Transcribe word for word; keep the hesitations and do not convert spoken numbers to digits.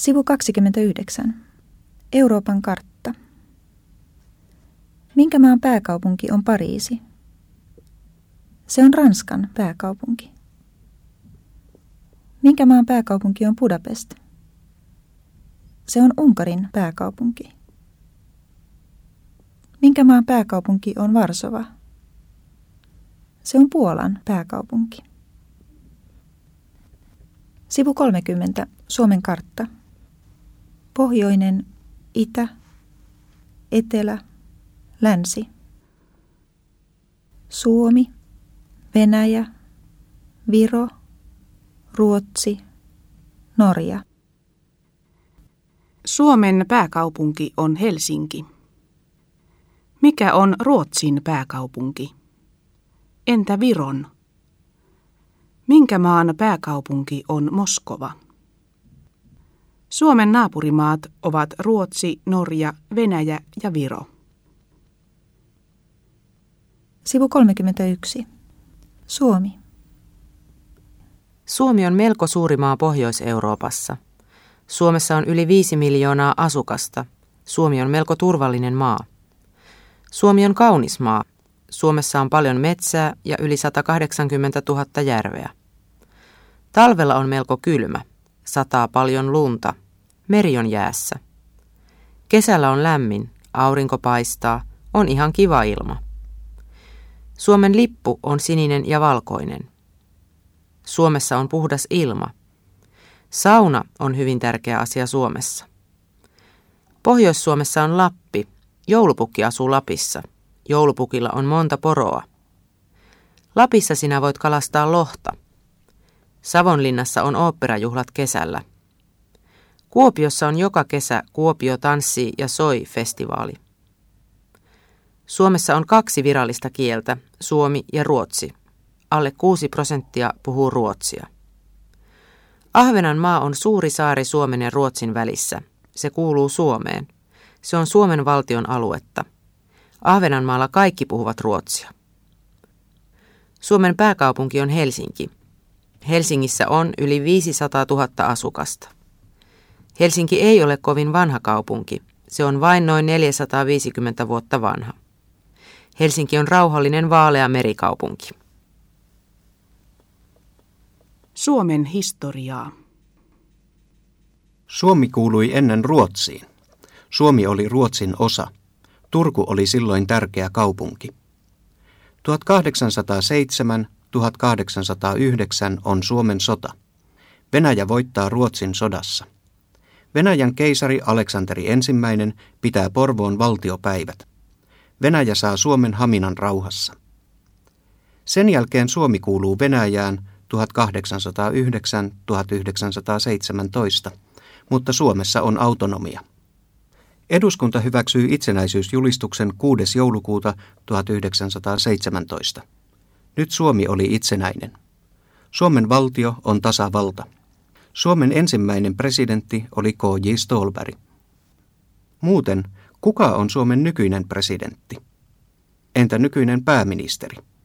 Sivu kaksikymmentäyhdeksän. Euroopan kartta. Minkä maan pääkaupunki on Pariisi? Se on Ranskan pääkaupunki. Minkä maan pääkaupunki on Budapest? Se on Unkarin pääkaupunki. Minkä maan pääkaupunki on Varsova? Se on Puolan pääkaupunki. Sivu kolmekymmentä. Suomen kartta. Pohjoinen, itä, etelä, länsi. Suomi, Venäjä, Viro, Ruotsi, Norja. Suomen pääkaupunki on Helsinki. Mikä on Ruotsin pääkaupunki? Entä Viron? Minkä maan pääkaupunki on Moskova? Suomen naapurimaat ovat Ruotsi, Norja, Venäjä ja Viro. Sivu kolmekymmentäyksi. Suomi. Suomi on melko suuri maa Pohjois-Euroopassa. Suomessa on yli viisi miljoonaa asukasta. Suomi on melko turvallinen maa. Suomi on kaunis maa. Suomessa on paljon metsää ja yli sata kahdeksankymmentätuhatta järveä. Talvella on melko kylmä. Sataa paljon lunta. Meri on jäässä. Kesällä on lämmin. Aurinko paistaa. On ihan kiva ilma. Suomen lippu on sininen ja valkoinen. Suomessa on puhdas ilma. Sauna on hyvin tärkeä asia Suomessa. Pohjois-Suomessa on Lappi. Joulupukki asuu Lapissa. Joulupukilla on monta poroa. Lapissa sinä voit kalastaa lohta. Savonlinnassa on oopperajuhlat kesällä. Kuopiossa on joka kesä Kuopio tanssii ja soi -festivaali. Suomessa on kaksi virallista kieltä, suomi ja ruotsi. Alle kuusi prosenttia puhuu ruotsia. Ahvenanmaa on suuri saari Suomen ja Ruotsin välissä. Se kuuluu Suomeen. Se on Suomen valtion aluetta. Ahvenanmaalla kaikki puhuvat ruotsia. Suomen pääkaupunki on Helsinki. Helsingissä on yli viisisataatuhatta asukasta. Helsinki ei ole kovin vanha kaupunki. Se on vain noin neljäsataaviisikymmentä vuotta vanha. Helsinki on rauhallinen vaalea merikaupunki. Suomen historiaa. Suomi kuului ennen Ruotsiin. Suomi oli Ruotsin osa. Turku oli silloin tärkeä kaupunki. tuhatkahdeksansataaseitsemän tuhatkahdeksansataayhdeksän on Suomen sota. Venäjä voittaa Ruotsin sodassa. Venäjän keisari Aleksanteri ensimmäinen pitää Porvoon valtiopäivät. Venäjä saa Suomen Haminan rauhassa. Sen jälkeen Suomi kuuluu Venäjään tuhatkahdeksansataayhdeksän tuhatyhdeksänsataaseitsemäntoista, mutta Suomessa on autonomia. Eduskunta hyväksyi itsenäisyysjulistuksen kuudes joulukuuta tuhatyhdeksänsataaseitsemäntoista. Nyt Suomi oli itsenäinen. Suomen valtio on tasavalta. Suomen ensimmäinen presidentti oli K J Ståhlberg. Muuten, kuka on Suomen nykyinen presidentti? Entä nykyinen pääministeri?